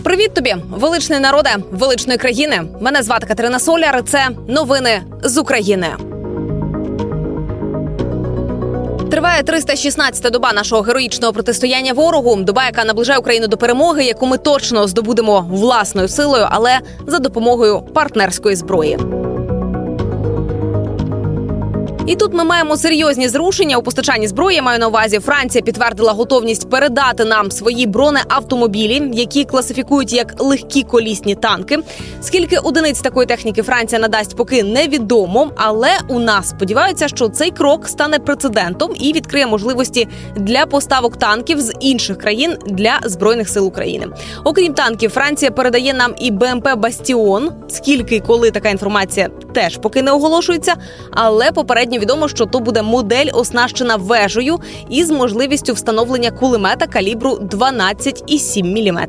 Привіт тобі, величний народе, величної країни. Мене звати Катерина Соляр, це новини з України. Триває 316-та доба нашого героїчного протистояння ворогу. Доба, яка наближає Україну до перемоги, яку ми точно здобудемо власною силою, але за допомогою партнерської зброї. І тут ми маємо серйозні зрушення у постачанні зброї. Я маю на увазі, Франція підтвердила готовність передати нам свої бронеавтомобілі, які класифікують як легкі колісні танки. Скільки одиниць такої техніки Франція надасть, поки невідомо. Але у нас сподіваються, що цей крок стане прецедентом і відкриє можливості для поставок танків з інших країн для Збройних сил України. Окрім танків, Франція передає нам і БМП «Бастіон». Скільки і коли, така інформація теж поки не оголошується. Але попередньо відомо, що то буде модель, оснащена вежею із можливістю встановлення кулемета калібру 12,7 мм.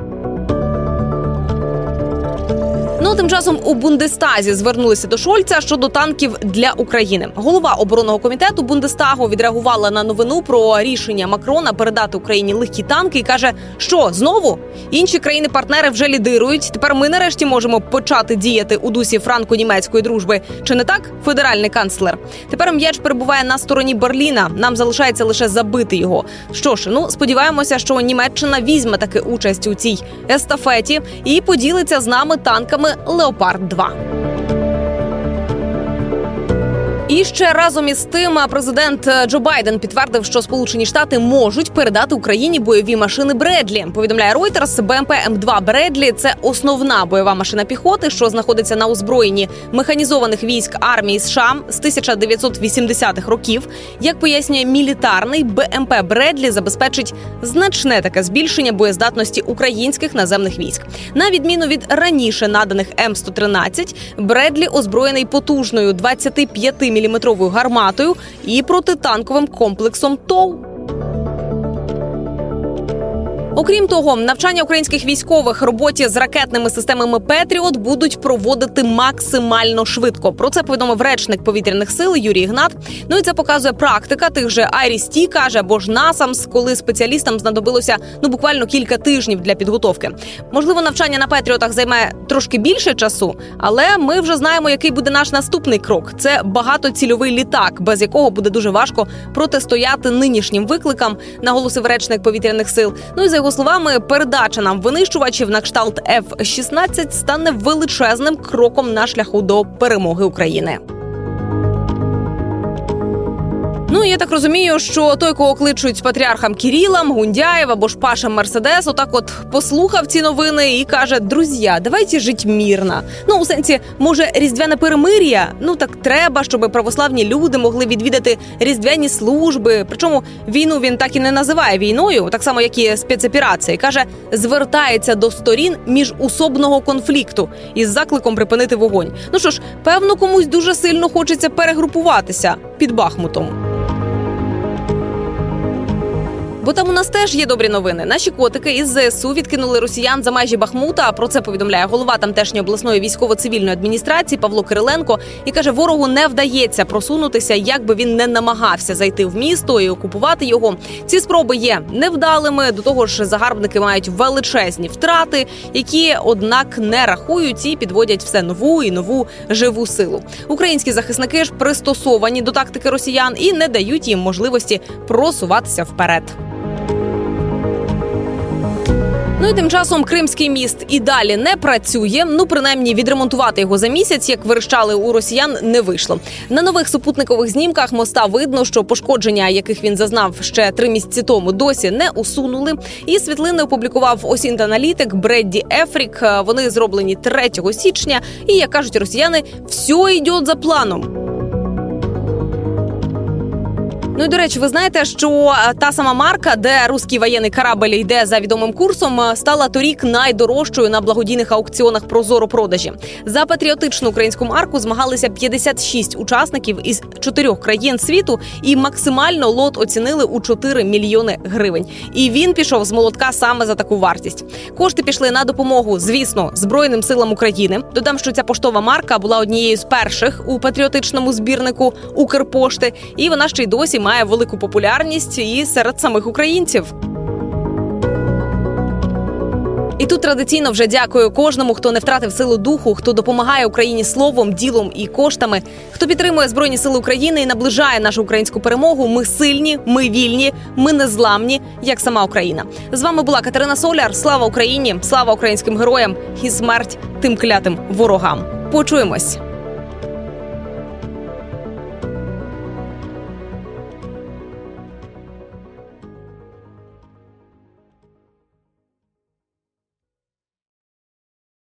Тим часом у Бундестазі звернулися до Шольца щодо танків для України. Голова оборонного комітету Бундестагу відреагувала на новину про рішення Макрона передати Україні легкі танки і каже, що знову інші країни-партнери вже лідирують. Тепер ми нарешті можемо почати діяти у дусі франко-німецької дружби. Чи не так, федеральний канцлер? Тепер м'яч перебуває на стороні Берліна. Нам залишається лише забити його. Що ж, сподіваємося, що Німеччина візьме таки участь у цій естафеті і поділиться з нами танками «Леопард-2». І ще разом із тим президент Джо Байден підтвердив, що Сполучені Штати можуть передати Україні бойові машини Бредлі. Повідомляє Reuters, БМП М2 Бредлі – це основна бойова машина піхоти, що знаходиться на озброєнні механізованих військ армії США з 1980-х років. Як пояснює мілітарний, БМП Бредлі забезпечить значне таке збільшення боєздатності українських наземних військ. На відміну від раніше наданих М113, Бредлі озброєний потужною 25-мм гарматою і протитанковим комплексом ТОУ. Окрім того, навчання українських військових роботі з ракетними системами «Петріот» будуть проводити максимально швидко. Про це повідомив речник повітряних сил Юрій Ігнат. І це показує практика тих же IRIS-T, каже, або ж NASAMS, коли спеціалістам знадобилося буквально кілька тижнів для підготовки. Можливо, навчання на «Петріотах» займе трошки більше часу, але ми вже знаємо, який буде наш наступний крок. Це багатоцільовий літак, без якого буде дуже важко протистояти нинішнім викликам, наголосив речник повітряних сил. І за його словами, передача нам винищувачів на кшталт F-16 стане величезним кроком на шляху до перемоги України. Я так розумію, що той, кого кличуть патріархом Кирилом, Гундяєв або ж Пашем Мерседес, отак послухав ці новини і каже, друзі, давайте жити мирно. У сенсі, може, різдвяне перемир'я? Так треба, щоб православні люди могли відвідати різдвяні служби. Причому війну він так і не називає війною, так само, як і спецоперації. Каже, звертається до сторін міжусобного конфлікту із закликом припинити вогонь. Що ж, певно, комусь дуже сильно хочеться перегрупуватися під Бахмутом. Бо там у нас теж є добрі новини. Наші котики із ЗСУ відкинули росіян за межі Бахмута. Про це повідомляє голова тамтешньої обласної військово-цивільної адміністрації Павло Кириленко. І каже, ворогу не вдається просунутися, як би він не намагався зайти в місто і окупувати його. Ці спроби є невдалими. До того ж, загарбники мають величезні втрати, які, однак, не рахують і підводять все нову і нову живу силу. Українські захисники ж пристосовані до тактики росіян і не дають їм можливості просуватися вперед. І тим часом Кримський міст і далі не працює. Принаймні відремонтувати його за місяць, як верещали у росіян, не вийшло. На нових супутникових знімках моста видно, що пошкодження, яких він зазнав ще 3 місяці тому, досі не усунули. І світлини опублікував осінт-аналітик Бредді Ефрік. Вони зроблені 3 січня. І, як кажуть росіяни, все йде за планом. І, до речі, ви знаєте, що та сама марка, де руський воєнний корабль йде за відомим курсом, стала торік найдорожчою на благодійних аукціонах ProZorro-продажі. За патріотичну українську марку змагалися 56 учасників із 4 країн світу, і максимально лот оцінили у 4 мільйони гривень. І він пішов з молотка саме за таку вартість. Кошти пішли на допомогу, звісно, Збройним силам України. Додам, що ця поштова марка була однією з перших у патріотичному збірнику Укрпошти, і вона ще й досі має велику популярність і серед самих українців. І тут традиційно вже дякую кожному, хто не втратив силу духу, хто допомагає Україні словом, ділом і коштами, хто підтримує Збройні Сили України і наближає нашу українську перемогу. Ми сильні, ми вільні, ми незламні, як сама Україна. З вами була Катерина Соляр. Слава Україні, слава українським героям і смерть тим клятим ворогам. Почуємось.